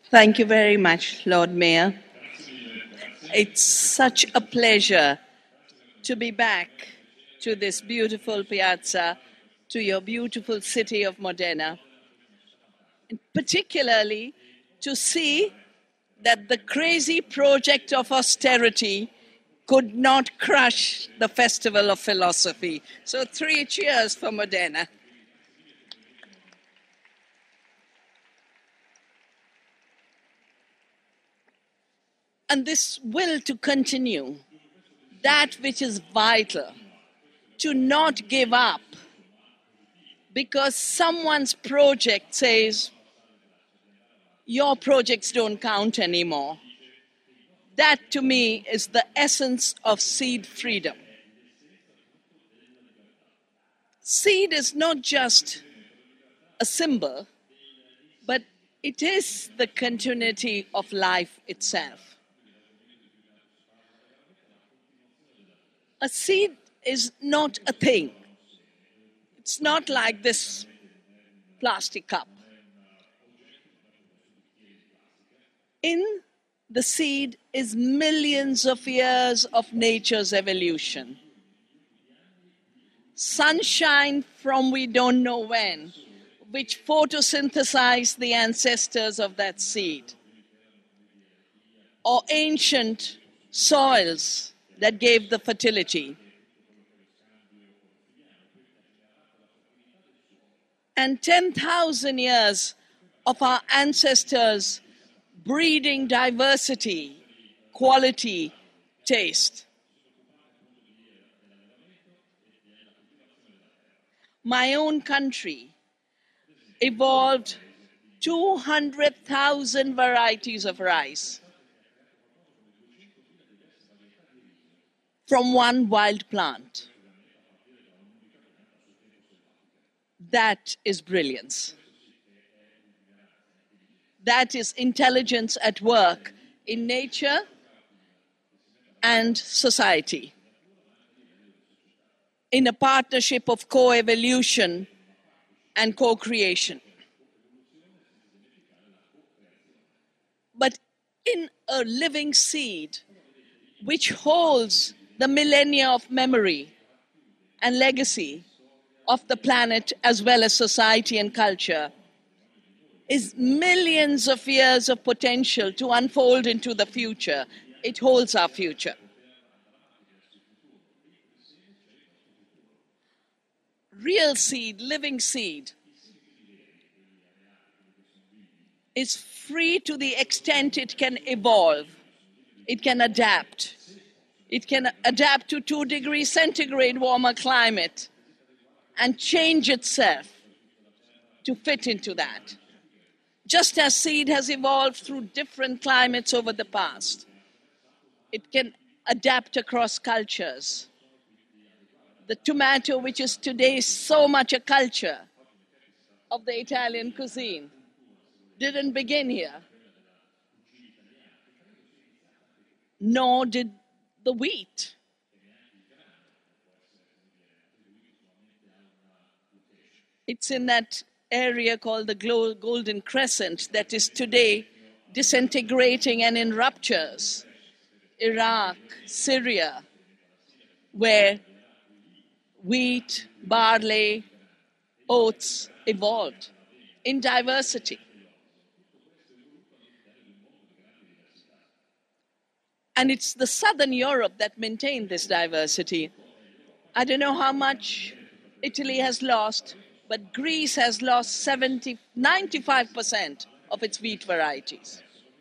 Thank you very much, Lord Mayor. It's such a pleasure to be back to this beautiful piazza, to your beautiful city of Modena, and particularly to see that the crazy project of austerity could not crush the Festival of Philosophy. So 3 cheers for Modena. And this will to continue, that which is vital, to not give up because someone's project says, your projects don't count anymore. That to me is the essence of seed freedom. Seed is not just a symbol, but it is the continuity of life itself. A seed is not a thing. It's not like this plastic cup. In the seed is millions of years of nature's evolution. Sunshine from we don't know when, which photosynthesized the ancestors of that seed. Or ancient soils that gave the fertility. And 10,000 years of our ancestors breeding diversity, quality, taste. My own country evolved 200,000 varieties of rice from one wild plant. That is brilliance. That is intelligence at work in nature and society, in a partnership of co-evolution and co-creation. But in a living seed which holds the millennia of memory and legacy of the planet as well as society and culture, is millions of years of potential to unfold into the future. It holds our future. Real seed, living seed, is free to the extent it can evolve. It can adapt. It can adapt to 2 degrees centigrade warmer climate and change itself to fit into that. Just as seed has evolved through different climates over the past, it can adapt across cultures. The tomato, which is today so much a culture of the Italian cuisine, didn't begin here. Nor did the wheat. It's in that area called the Golden Crescent that is today disintegrating and in ruptures. Iraq, Syria, where wheat, barley, oats evolved in diversity. And it's the Southern Europe that maintained this diversity. I don't know how much Italy has lost, but Greece has lost 95% of its wheat varieties.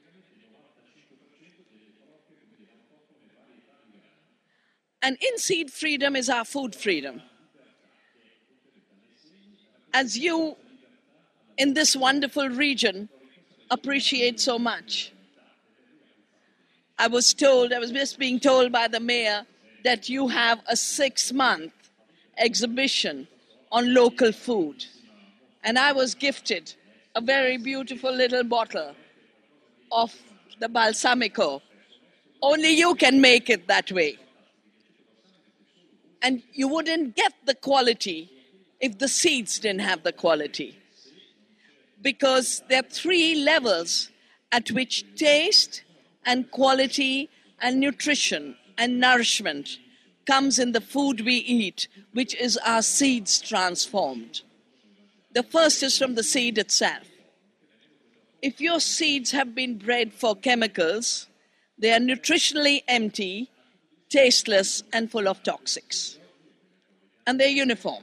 And in seed freedom is our food freedom. As you, in this wonderful region, appreciate so much. I was just being told by the mayor that you have a 6-month exhibition on local food. And I was gifted a very beautiful little bottle of the balsamico. Only you can make it that way. And you wouldn't get the quality if the seeds didn't have the quality. Because there are 3 levels at which taste and quality and nutrition and nourishment comes in the food we eat, which is our seeds transformed. The first is from the seed itself. If your seeds have been bred for chemicals, they are nutritionally empty, tasteless, and full of toxics. And they're uniform.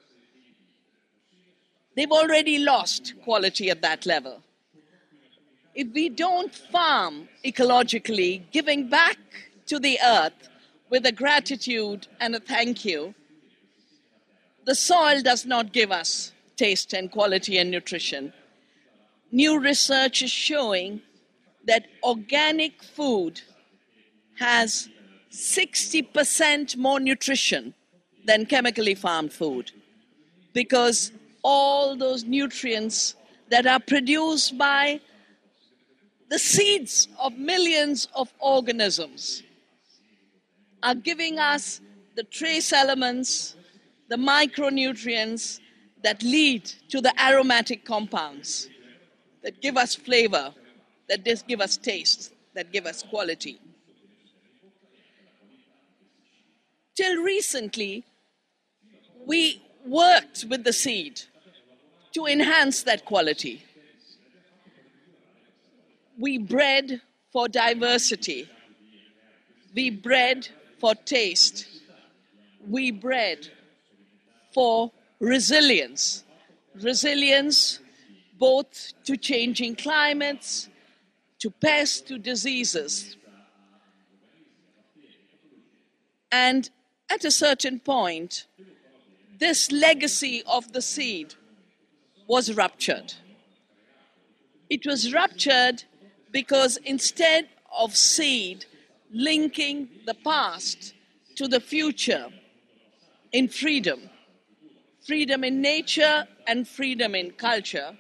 They've already lost quality at that level. If we don't farm ecologically, giving back to the earth with a gratitude and a thank you, the soil does not give us taste and quality and nutrition. New research is showing that organic food has 60% more nutrition than chemically farmed food, because all those nutrients that are produced by the seeds of millions of organisms are giving us the trace elements, the micronutrients that lead to the aromatic compounds that give us flavor, that give us taste, that give us quality. Till recently, we worked with the seed to enhance that quality. We bred for diversity. We bred for taste. We bred for resilience. Resilience both to changing climates, to pests, to diseases. And at a certain point, this legacy of the seed was ruptured. It was ruptured because instead of seed linking the past to the future in freedom, freedom in nature and freedom in culture,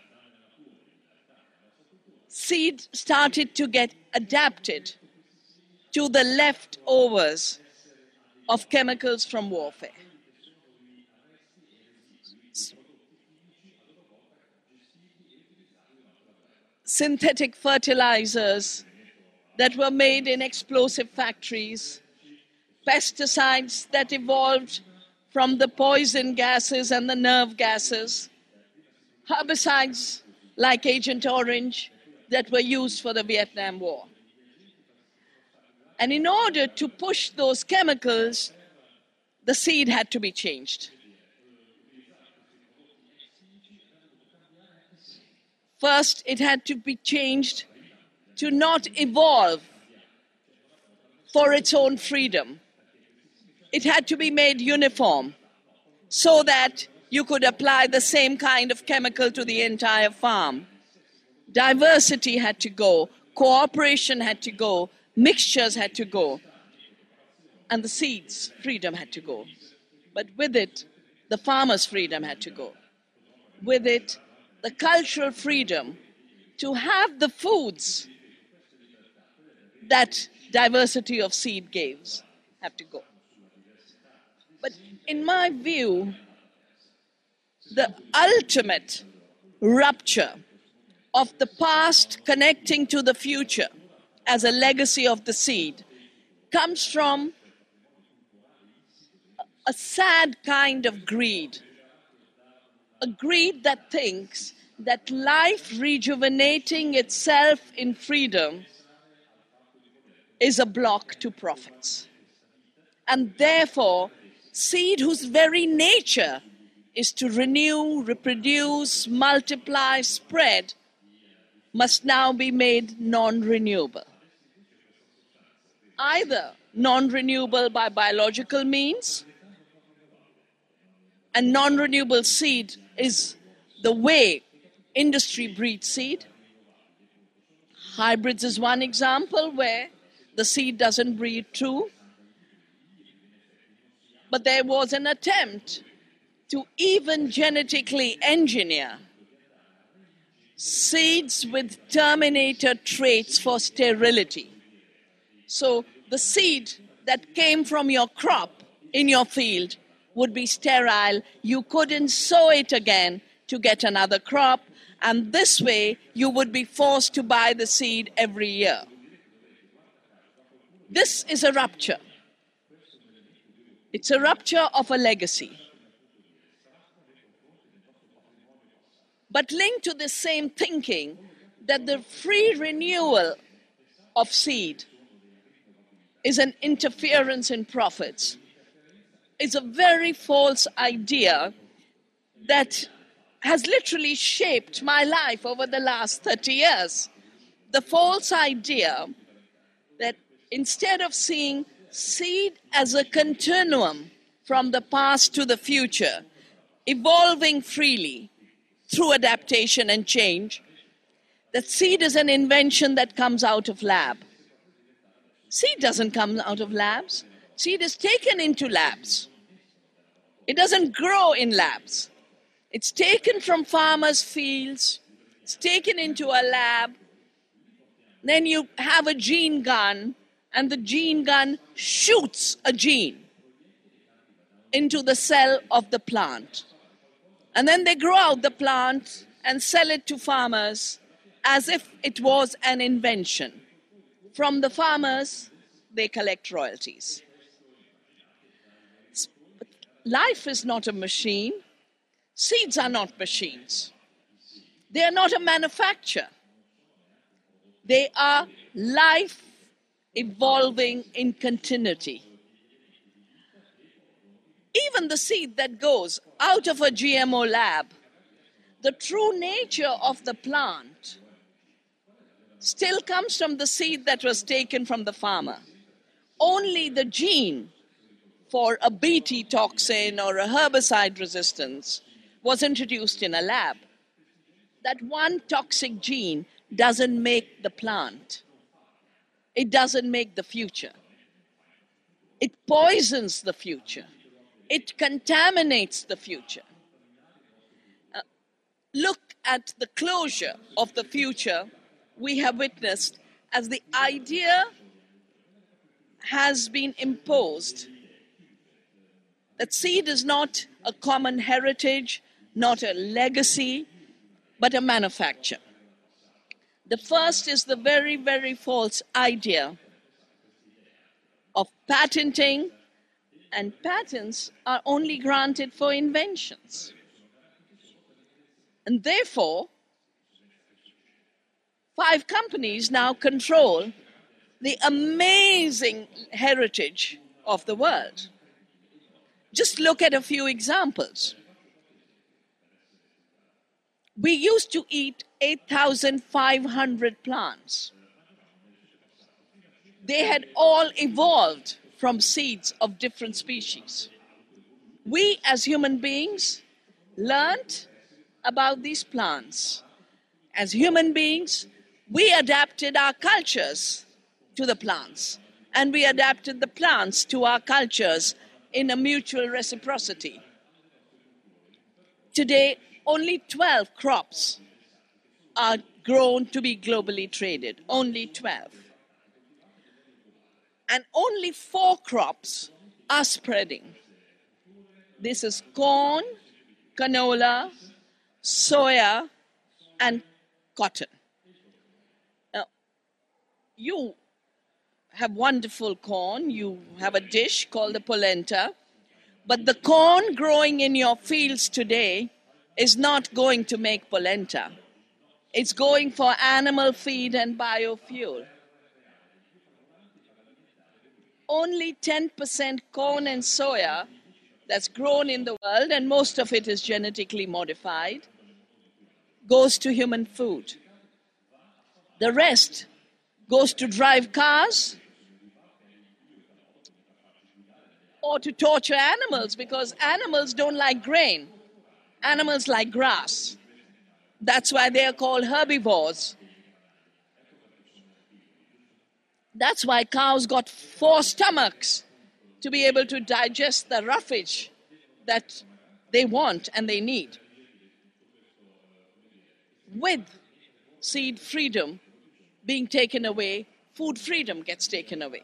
seed started to get adapted to the leftovers of chemicals from warfare. Synthetic fertilizers that were made in explosive factories, pesticides that evolved from the poison gases and the nerve gases, herbicides like Agent Orange that were used for the Vietnam War. And in order to push those chemicals, the seed had to be changed. First, it had to be changed to not evolve for its own freedom. It had to be made uniform so that you could apply the same kind of chemical to the entire farm. Diversity had to go, cooperation had to go, mixtures had to go, and the seeds' freedom had to go. But with it, the farmer's freedom had to go. With it, the cultural freedom to have the foods that diversity of seed gives have to go. But in my view, the ultimate rupture of the past connecting to the future as a legacy of the seed comes from a sad kind of greed. A greed that thinks that life rejuvenating itself in freedom is a block to profits. And therefore, seed whose very nature is to renew, reproduce, multiply, spread, must now be made non-renewable. Either non-renewable by biological means, and non-renewable seed is the way industry breeds seed. Hybrids is one example where the seed doesn't breed true. But there was an attempt to even genetically engineer seeds with terminator traits for sterility. So the seed that came from your crop in your field would be sterile. You couldn't sow it again to get another crop, And this way, you would be forced to buy the seed every year. This is a rupture. It's a rupture of a legacy. But linked to the same thinking that the free renewal of seed is an interference in profits is a very false idea that has literally shaped my life over the last 30 years. The false idea that instead of seeing seed as a continuum from the past to the future, evolving freely through adaptation and change, that seed is an invention that comes out of lab. Seed doesn't come out of labs. Seed is taken into labs. It doesn't grow in labs. It's taken from farmers' fields. It's taken into a lab. Then you have a gene gun, and the gene gun shoots a gene into the cell of the plant. And then they grow out the plant and sell it to farmers as if it was an invention. From the farmers, they collect royalties. Life is not a machine. Seeds are not machines. They are not a manufacture. They are life evolving in continuity. Even the seed that goes out of a GMO lab, the true nature of the plant still comes from the seed that was taken from the farmer. Only the gene for a Bt toxin or a herbicide resistance was introduced in a lab. That one toxic gene doesn't make the plant. It doesn't make the future. It poisons the future. It contaminates the future. Look at the closure of the future we have witnessed as the idea has been imposed that seed is not a common heritage, not a legacy, but a manufacture. The first is the very, very false idea of patenting, and patents are only granted for inventions. And therefore, 5 companies now control the amazing heritage of the world. Just look at a few examples. We used to eat 8,500 plants. They had all evolved from seeds of different species. We as human beings learned about these plants. As human beings, we adapted our cultures to the plants, and we adapted the plants to our cultures in a mutual reciprocity. Today, only 12 crops are grown to be globally traded, only 12. And only 4 crops are spreading. This is corn, canola, soya, and cotton. Now, you have wonderful corn. You have a dish called the polenta. But the corn growing in your fields today is not going to make polenta. It's going for animal feed and biofuel. Only 10% corn and soya that's grown in the world, and most of it is genetically modified, goes to human food. The rest goes to drive cars or to torture animals, because animals don't like grain. Animals like grass. That's why they are called herbivores. That's why cows got 4 stomachs to be able to digest the roughage that they want and they need. With seed freedom being taken away, food freedom gets taken away.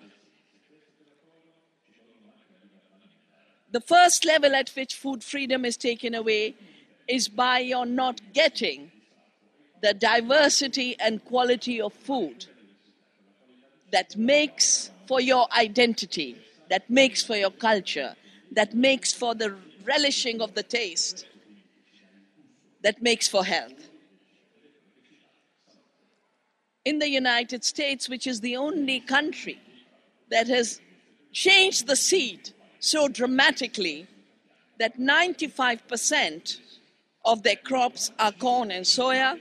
The first level at which food freedom is taken away is by your not getting the diversity and quality of food that makes for your identity, that makes for your culture, that makes for the relishing of the taste, that makes for health. In the United States, which is the only country that has changed the seed so dramatically that 95% of their crops are corn and soya,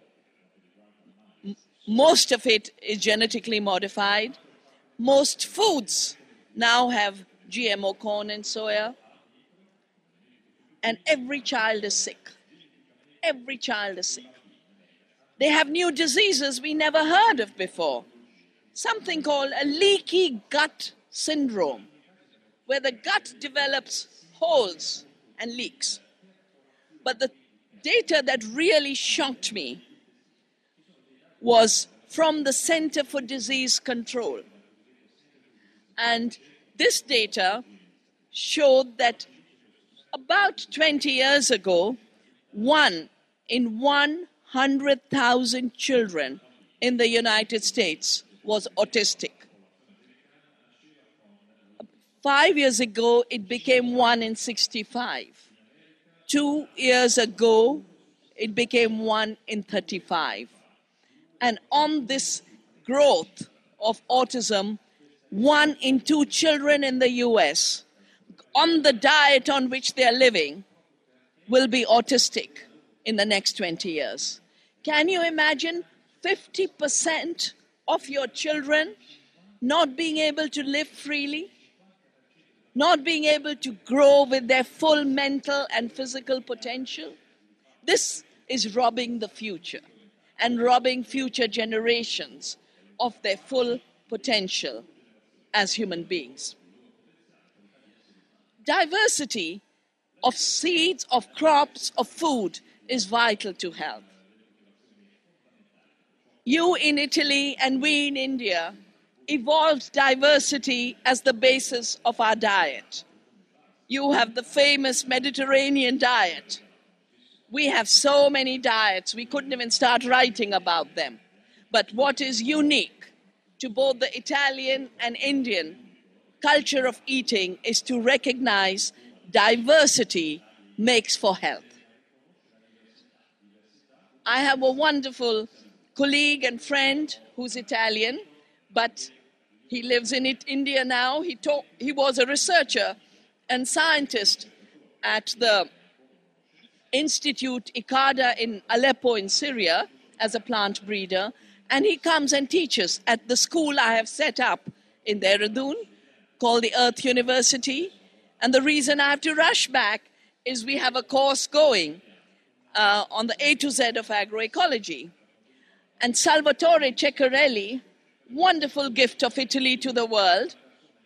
most of it is genetically modified. Most foods now have GMO corn and soya. And every child is sick. Every child is sick. They have new diseases we never heard of before. Something called a leaky gut syndrome, where the gut develops holes and leaks. But the data that really shocked me was from the Center for Disease Control. And this data showed that about 20 years ago, 1 in 100,000 children in the United States was autistic. 5 years ago, it became 1 in 65. 2 years ago, it became 1 in 35. And on this growth of autism, 1 in 2 children in the US, on the diet on which they are living, will be autistic in the next 20 years. Can you imagine 50% of your children not being able to live freely, not being able to grow with their full mental and physical potential? This is robbing the future and robbing future generations of their full potential as human beings. Diversity of seeds, of crops, of food is vital to health. You in Italy and we in India evolved diversity as the basis of our diet. You have the famous Mediterranean diet. We have so many diets, we couldn't even start writing about them. But what is unique to both the Italian and Indian culture of eating is to recognize diversity makes for health. I have a wonderful colleague and friend who's Italian, but he lives in India now. He was a researcher and scientist at the Institute ICADA in Aleppo in Syria as a plant breeder. And he comes and teaches at the school I have set up in Dehradun called the Earth University. And the reason I have to rush back is we have a course going on the A to Z of agroecology. And Salvatore Ceccarelli, wonderful gift of Italy to the world,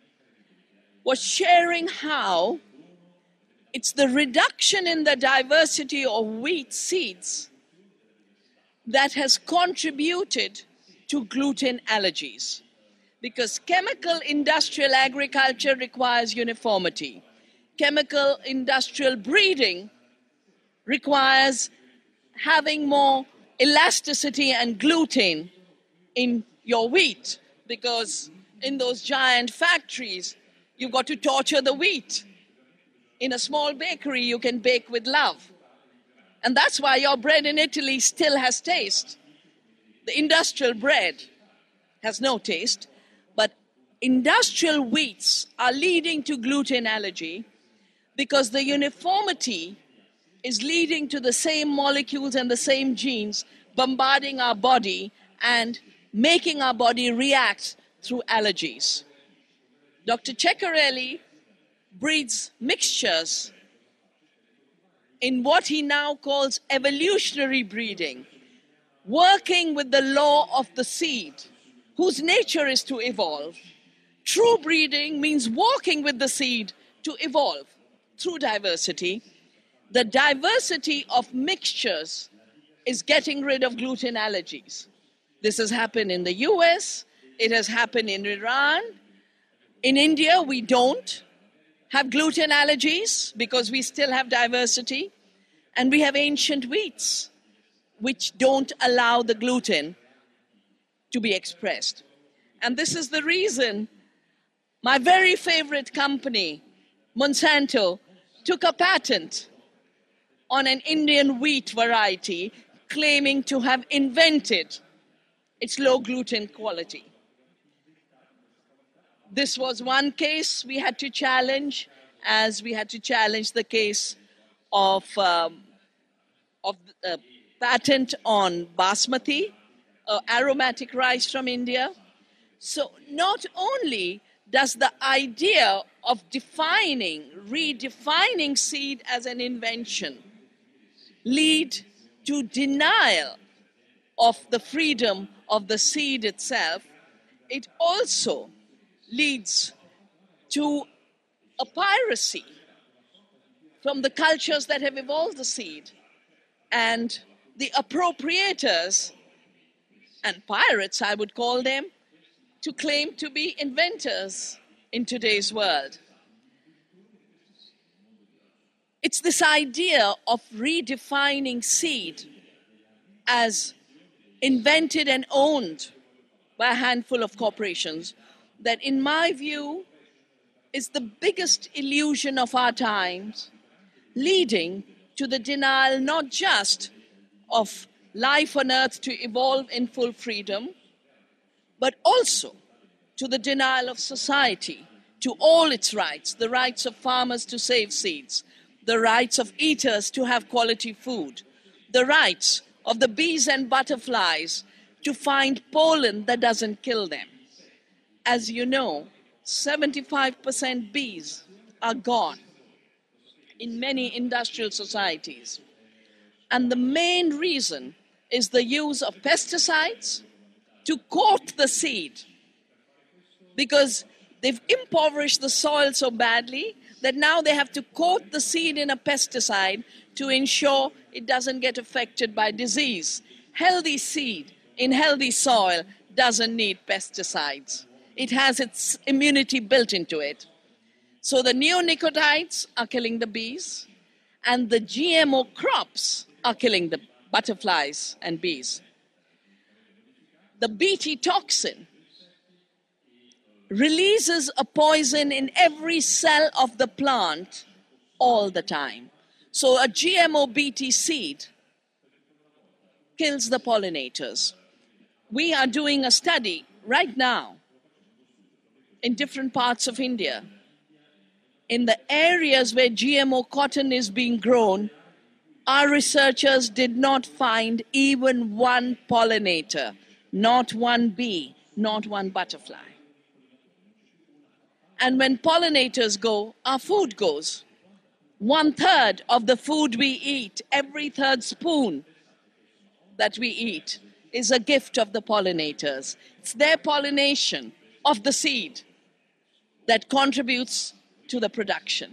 was sharing how it's the reduction in the diversity of wheat seeds that has contributed to gluten allergies. Because chemical industrial agriculture requires uniformity. Chemical industrial breeding requires having more elasticity and gluten in your wheat, because in those giant factories, you've got to torture the wheat. In a small bakery, you can bake with love. And that's why your bread in Italy still has taste. The industrial bread has no taste, but industrial wheats are leading to gluten allergy because the uniformity is leading to the same molecules and the same genes bombarding our body and making our body react through allergies. Dr. Ceccarelli breeds mixtures in what he now calls evolutionary breeding, working with the law of the seed, whose nature is to evolve. True breeding means walking with the seed to evolve through diversity. The diversity of mixtures is getting rid of gluten allergies. This has happened in the US, it has happened in Iran. In India, we don't have gluten allergies because we still have diversity, and we have ancient wheats. which don't allow the gluten to be expressed. And this is the reason my very favorite company, Monsanto, took a patent on an Indian wheat variety, claiming to have invented its low gluten quality. This was one case we had to challenge, as we had to challenge the case of patent on basmati, aromatic rice from India. So not only does the idea of redefining seed as an invention lead to denial of the freedom of the seed itself, it also leads to a piracy from the cultures that have evolved the seed, and the appropriators and pirates, I would call them, to claim to be inventors in today's world. It's this idea of redefining seed as invented and owned by a handful of corporations that, in my view, is the biggest illusion of our times, leading to the denial not just of life on earth to evolve in full freedom, but also to the denial of society to all its rights, the rights of farmers to save seeds, the rights of eaters to have quality food, the rights of the bees and butterflies to find pollen that doesn't kill them. As you know, 75% bees are gone in many industrial societies. And the main reason is the use of pesticides to coat the seed, because they've impoverished the soil so badly that now they have to coat the seed in a pesticide to ensure it doesn't get affected by disease. Healthy seed in healthy soil doesn't need pesticides. It has its immunity built into it. So the neonicotinoids are killing the bees, and the GMO crops are killing the butterflies and bees. The Bt toxin releases a poison in every cell of the plant all the time. So a GMO Bt seed kills the pollinators. We are doing a study right now in different parts of India. In the areas where GMO cotton is being grown, our researchers did not find even one pollinator, not one bee, not one butterfly. And when pollinators go, our food goes. 1/3 of the food we eat, every third spoon that we eat, is a gift of the pollinators. It's their pollination of the seed that contributes to the production.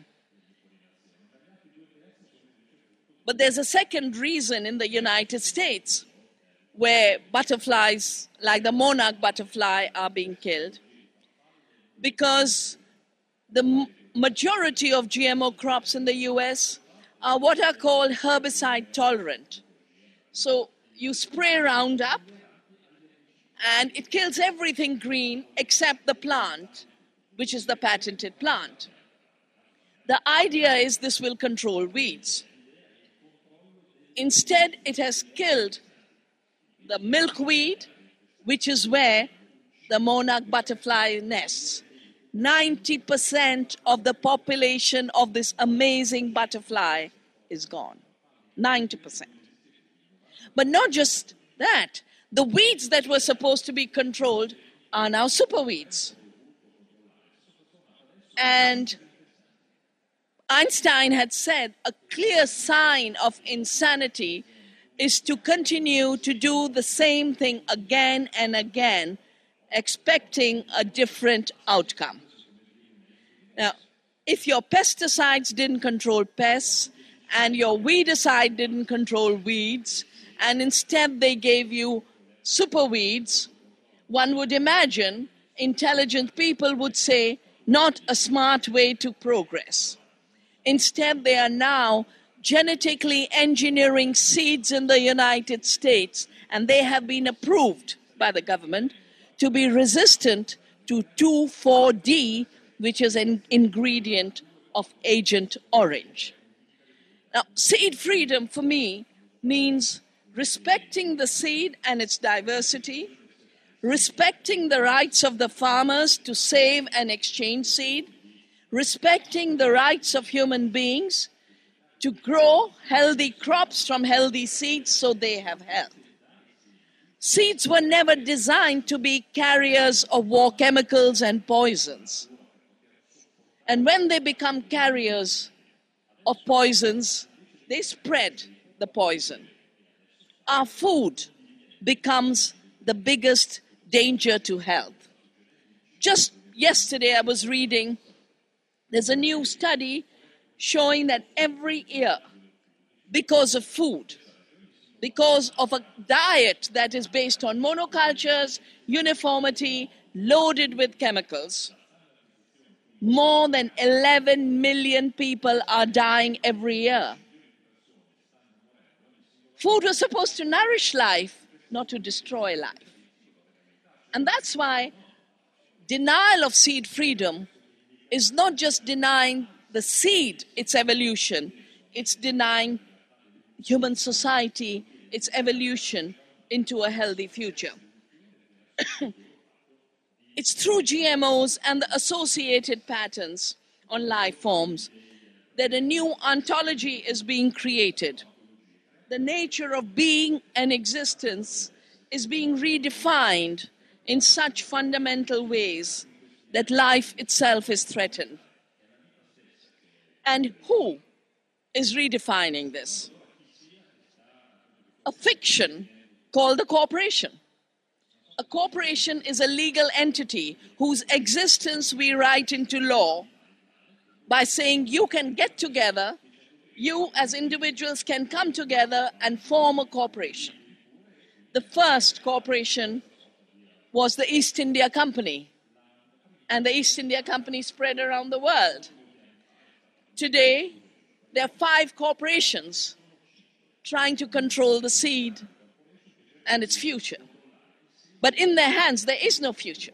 But there's a second reason in the United States where butterflies, like the monarch butterfly, are being killed, because the majority of GMO crops in the US are what are called herbicide tolerant. So you spray Roundup and it kills everything green except the plant, which is the patented plant. The idea is this will control weeds. Instead, it has killed the milkweed, which is where the monarch butterfly nests. 90% of the population of this amazing butterfly is gone. 90%. But not just that, the weeds that were supposed to be controlled are now superweeds. And Einstein had said a clear sign of insanity is to continue to do the same thing again and again, expecting a different outcome. Now, if your pesticides didn't control pests and your weedicide didn't control weeds, and instead they gave you superweeds, one would imagine intelligent people would say, not a smart way to progress. Instead, they are now genetically engineering seeds in the United States, and they have been approved by the government to be resistant to 2,4-D, which is an ingredient of Agent Orange. Now, seed freedom for me means respecting the seed and its diversity, respecting the rights of the farmers to save and exchange seed, respecting the rights of human beings to grow healthy crops from healthy seeds so they have health. Seeds were never designed to be carriers of war chemicals and poisons. And when they become carriers of poisons, they spread the poison. Our food becomes the biggest danger to health. Just yesterday I was reading, there's a new study showing that every year, because of food, because of a diet that is based on monocultures, uniformity, loaded with chemicals, more than 11 million people are dying every year. Food was supposed to nourish life, not to destroy life. And that's why denial of seed freedom is not just denying the seed its evolution, it's denying human society its evolution into a healthy future. It's through GMOs and the associated patterns on life forms that a new ontology is being created. The nature of being and existence is being redefined in such fundamental ways that life itself is threatened. And who is redefining this? A fiction called a corporation. A corporation is a legal entity whose existence we write into law by saying you can get together, you as individuals can come together and form a corporation. The first corporation was the East India Company, and the East India Company spread around the world. Today, there are 5 corporations trying to control the seed and its future. But in their hands, there is no future.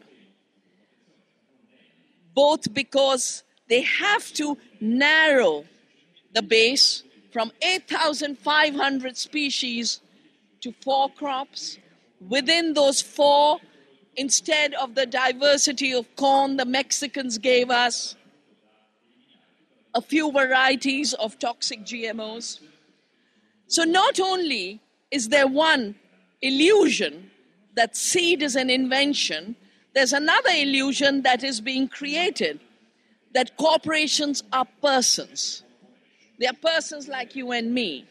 Both because they have to narrow the base from 8,500 species to 4 crops. Within those 4, instead of the diversity of corn the Mexicans gave us, a few varieties of toxic GMOs. So not only is there one illusion that seed is an invention, there's another illusion that is being created, that corporations are persons. They are persons like you and me.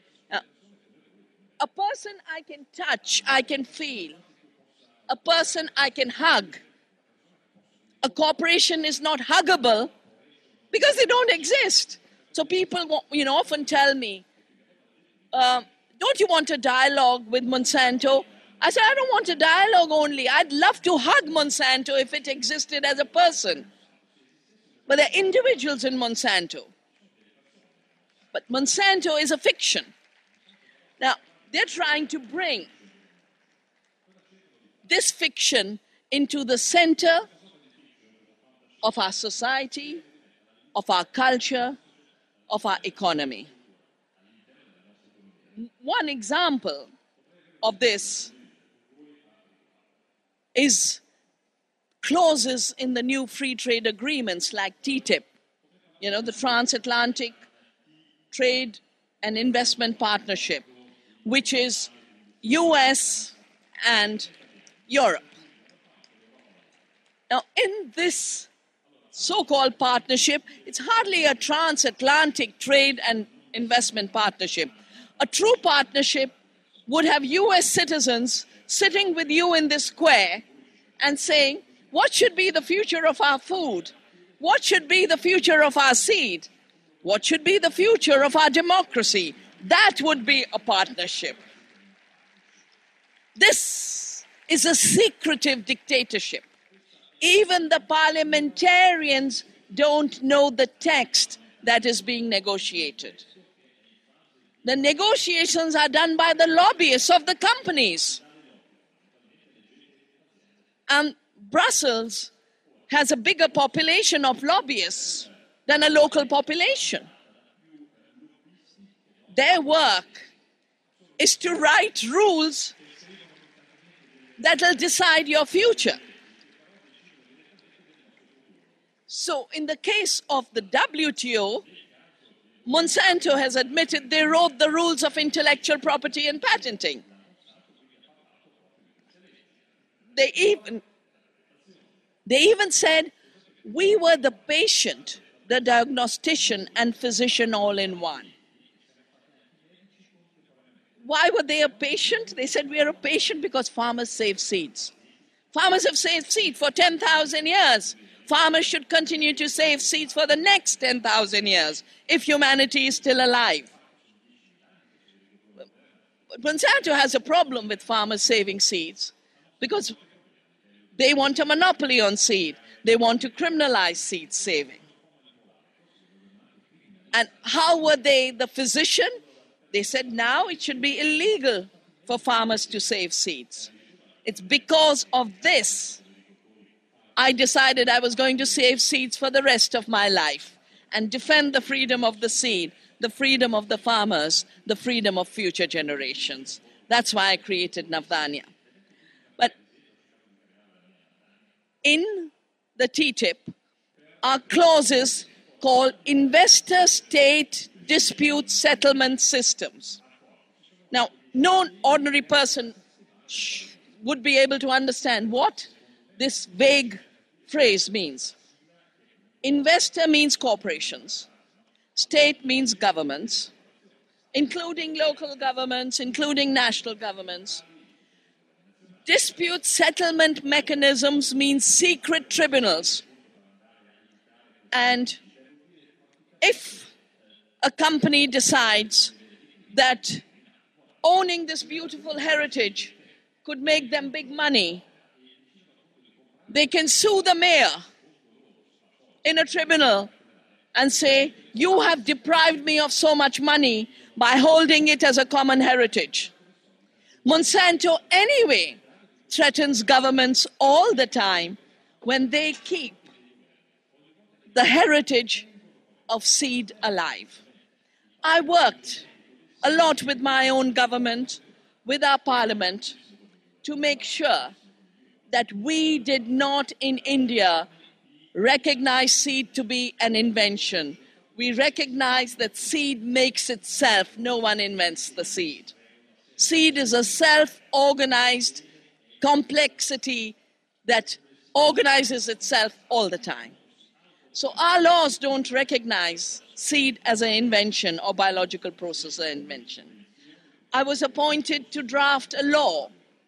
A person I can touch, I can feel. A person I can hug. A corporation is not huggable because they don't exist. So people, often tell me, don't you want a dialogue with Monsanto? I said, I don't want a dialogue only. I'd love to hug Monsanto if it existed as a person. But there are individuals in Monsanto. But Monsanto is a fiction. Now, they're trying to bring this fiction into the center of our society, of our culture, of our economy. One example of this is clauses in the new free trade agreements like TTIP, the Transatlantic Trade and Investment Partnership, which is US and Europe. Now, in this so-called partnership, it's hardly a transatlantic trade and investment partnership. A true partnership would have US citizens sitting with you in this square and saying, what should be the future of our food? What should be the future of our seed? What should be the future of our democracy? That would be a partnership. This is a secretive dictatorship. Even the parliamentarians don't know the text that is being negotiated. The negotiations are done by the lobbyists of the companies. And Brussels has a bigger population of lobbyists than a local population. Their work is to write rules that will decide your future. So in the case of the WTO, Monsanto has admitted they wrote the rules of intellectual property and patenting. They even said, we were the patient, the diagnostician, and physician all in one. Why were they a patient? They said, we are a patient because farmers save seeds. Farmers have saved seed for 10,000 years. Farmers should continue to save seeds for the next 10,000 years if humanity is still alive. But Monsanto has a problem with farmers saving seeds because they want a monopoly on seed. They want to criminalize seed saving. And how were they the physician? They said now it should be illegal for farmers to save seeds. It's because of this I decided I was going to save seeds for the rest of my life and defend the freedom of the seed, the freedom of the farmers, the freedom of future generations. That's why I created Navdanya. But in the TTIP are clauses called investor-state dispute settlement systems. Now, no ordinary person would be able to understand what this vague phrase means. Investor means corporations. State means governments, including local governments, including national governments. Dispute settlement mechanisms means secret tribunals. And if a company decides that owning this beautiful heritage could make them big money, they can sue the mayor in a tribunal and say, you have deprived me of so much money by holding it as a common heritage. Monsanto anyway threatens governments all the time when they keep the heritage of seed alive. I worked a lot with my own government, with our parliament, to make sure that we did not in India recognize seed to be an invention. We recognize that seed makes itself. No one invents the seed. Seed is a self-organized complexity that organizes itself all the time. So our laws don't recognize seed as an invention or biological process as an invention. I was appointed to draft a law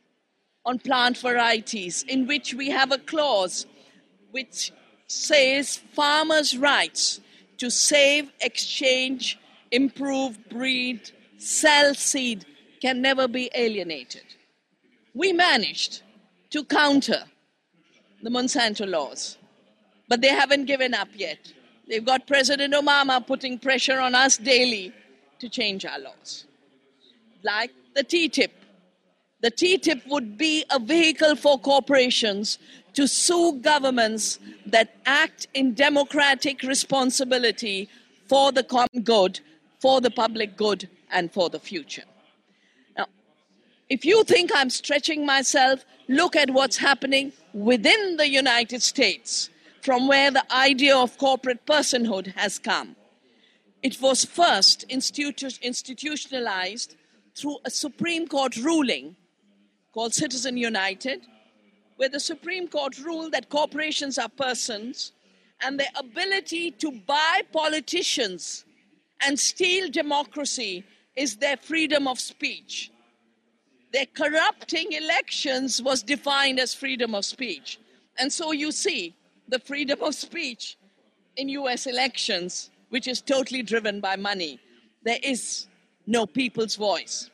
on plant varieties in which we have a clause which says farmers' rights to save, exchange, improve, breed, sell seed can never be alienated. We managed to counter the Monsanto laws, but they haven't given up yet. They've got President Obama putting pressure on us daily to change our laws. Like the TTIP. The TTIP would be a vehicle for corporations to sue governments that act in democratic responsibility for the common good, for the public good, and for the future. Now, if you think I'm stretching myself, look at what's happening within the United States, from where the idea of corporate personhood has come. It was first institutionalized through a Supreme Court ruling called Citizen United, where the Supreme Court ruled that corporations are persons and their ability to buy politicians and steal democracy is their freedom of speech. Their corrupting elections was defined as freedom of speech. And so you see the freedom of speech in US elections, which is totally driven by money. There is no people's voice.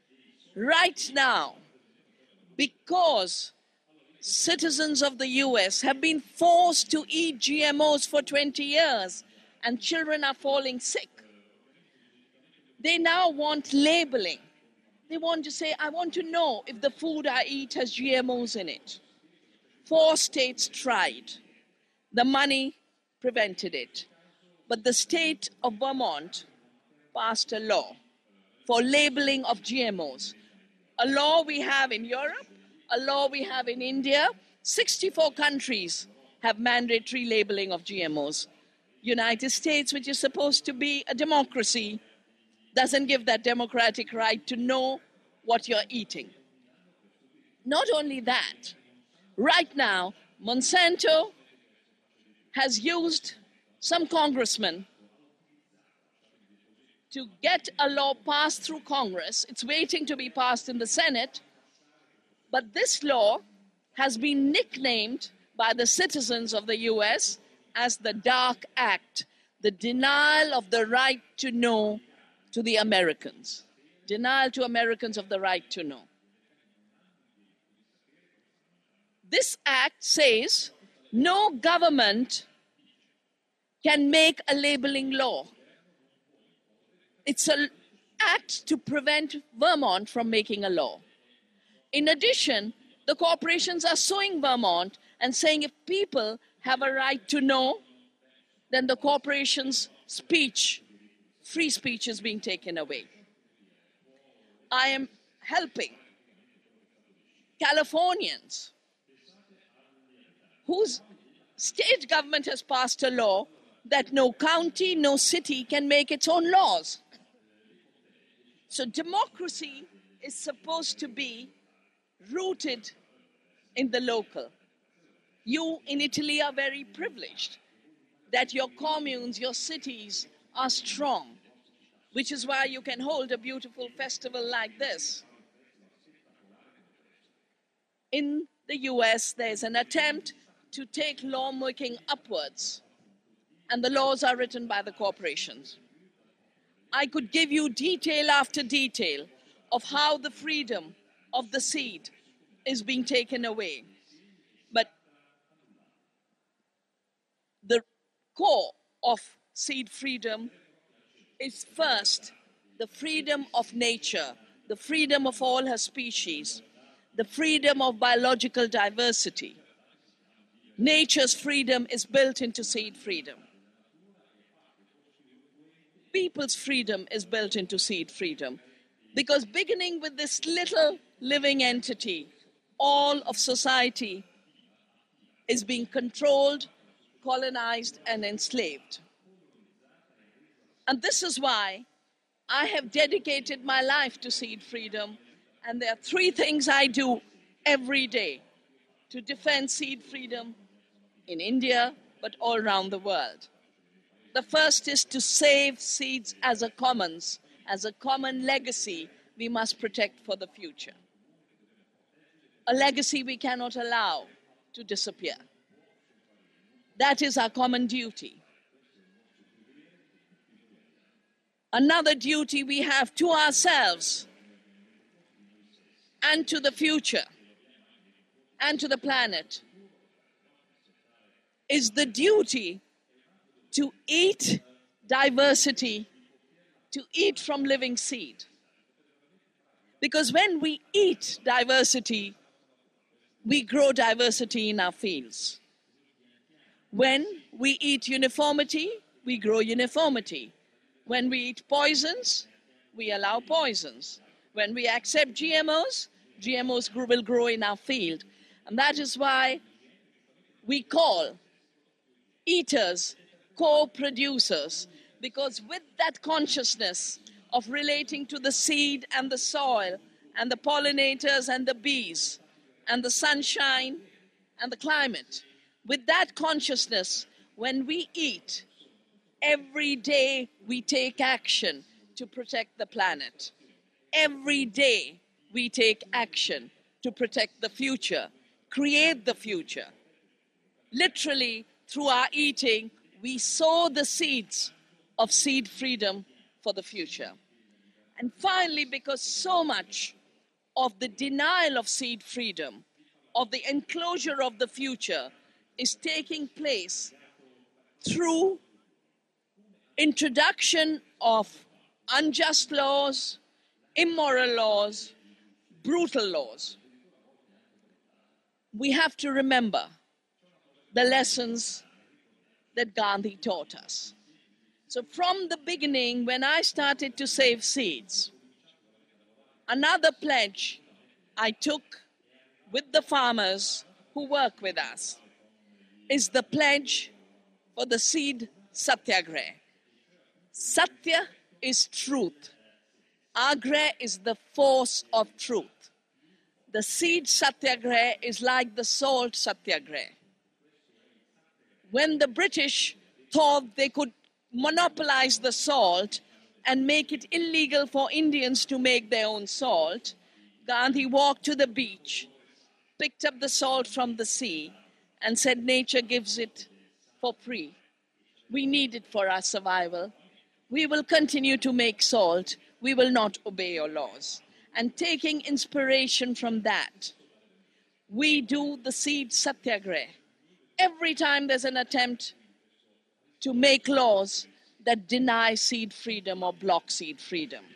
Right now, because citizens of the US have been forced to eat GMOs for 20 years and children are falling sick, They now want labeling. They want to say, I want to know if the food I eat has GMOs in it. 4 states tried. The money prevented it. But the state of Vermont passed a law for labeling of GMOs. A law we have in Europe, a law we have in India. 64 countries have mandatory labeling of GMOs. United States, which is supposed to be a democracy, doesn't give that democratic right to know what you're eating. Not only that, right now, Monsanto has used some congressmen to get a law passed through Congress. It's waiting to be passed in the Senate. But this law has been nicknamed by the citizens of the US as the Dark Act, the denial of the right to know to the Americans. Denial to Americans of the right to know. This act says no government can make a labeling law. It's an act to prevent Vermont from making a law. In addition, the corporations are suing Vermont and saying if people have a right to know, then the corporation's speech, free speech, is being taken away. I am helping Californians whose state government has passed a law that no county, no city can make its own laws. So democracy is supposed to be rooted in the local. You in Italy are very privileged that your communes, your cities are strong, which is why you can hold a beautiful festival like this. In the US, there's an attempt to take lawmaking upwards, and the laws are written by the corporations. I could give you detail after detail of how the freedom of the seed is being taken away. But the core of seed freedom is first the freedom of nature, the freedom of all her species, the freedom of biological diversity. Nature's freedom is built into seed freedom. People's freedom is built into seed freedom. Because beginning with this little living entity, all of society is being controlled, colonized, and enslaved. And this is why I have dedicated my life to seed freedom. And there are 3 things I do every day to defend seed freedom in India, but all around the world. The first is to save seeds as a commons, as a common legacy we must protect for the future. A legacy we cannot allow to disappear. That is our common duty. Another duty we have to ourselves and to the future and to the planet is the duty to eat diversity, to eat from living seed. Because when we eat diversity, we grow diversity in our fields. When we eat uniformity, we grow uniformity. When we eat poisons, we allow poisons. When we accept GMOs, GMOs will grow in our field. And that is why we call eaters co-producers, because with that consciousness of relating to the seed and the soil and the pollinators and the bees and the sunshine and the climate, with that consciousness, when we eat, every day we take action to protect the planet. Every day we take action to protect the future, create the future. Literally, through our eating, we sow the seeds of seed freedom for the future. And finally, because so much of the denial of seed freedom, of the enclosure of the future, is taking place through introduction of unjust laws, immoral laws, brutal laws. We have to remember the lessons that Gandhi taught us. So from the beginning, when I started to save seeds, another pledge I took with the farmers who work with us is the pledge for the seed satyagrah. Satya is truth. Agra is the force of truth. The seed satyagrah is like the salt satyagrah. When the British thought they could monopolize the salt and make it illegal for Indians to make their own salt, Gandhi walked to the beach, picked up the salt from the sea, and said, nature gives it for free. We need it for our survival. We will continue to make salt. We will not obey your laws. And taking inspiration from that, we do the seed satyagrah. Every time there's an attempt to make laws that deny seed freedom or block seed freedom.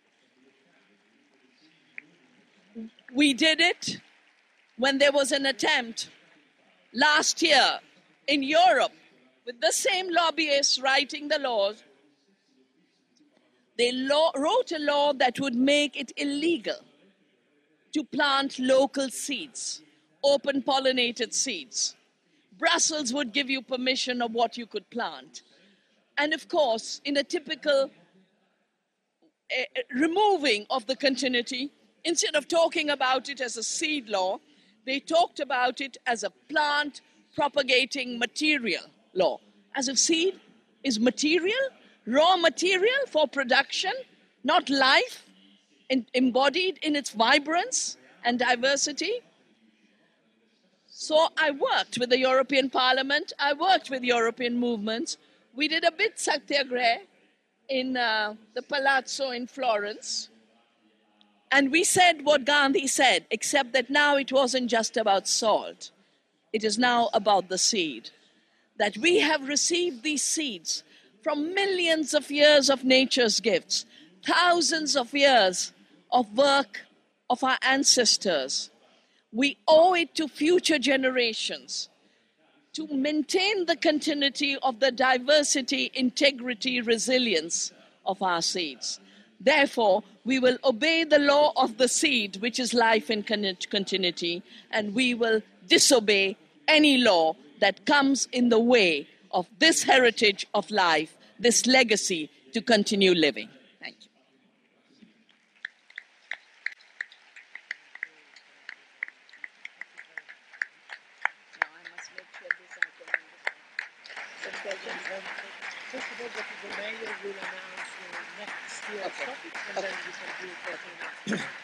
We did it when there was an attempt last year in Europe with the same lobbyists writing the laws. They wrote a law that would make it illegal to plant local seeds, open pollinated seeds. Brussels would give you permission of what you could plant. And of course, in a typical removing of the continuity, instead of talking about it as a seed law, they talked about it as a plant propagating material law. As if seed is material, raw material for production, not life embodied in its vibrance and diversity. So I worked with the European Parliament, I worked with European movements. We did a bit satyagrah in the Palazzo in Florence. And we said what Gandhi said, except that now it wasn't just about salt. It is now about the seed. That we have received these seeds from millions of years of nature's gifts, thousands of years of work of our ancestors. We owe it to future generations to maintain the continuity of the diversity, integrity, resilience of our seeds. Therefore, we will obey the law of the seed, which is life in continuity, and we will disobey any law that comes in the way of this heritage of life, this legacy to continue living. Thank you. First of all, Dr. Mayor will announce the next year's topic, and then we can do it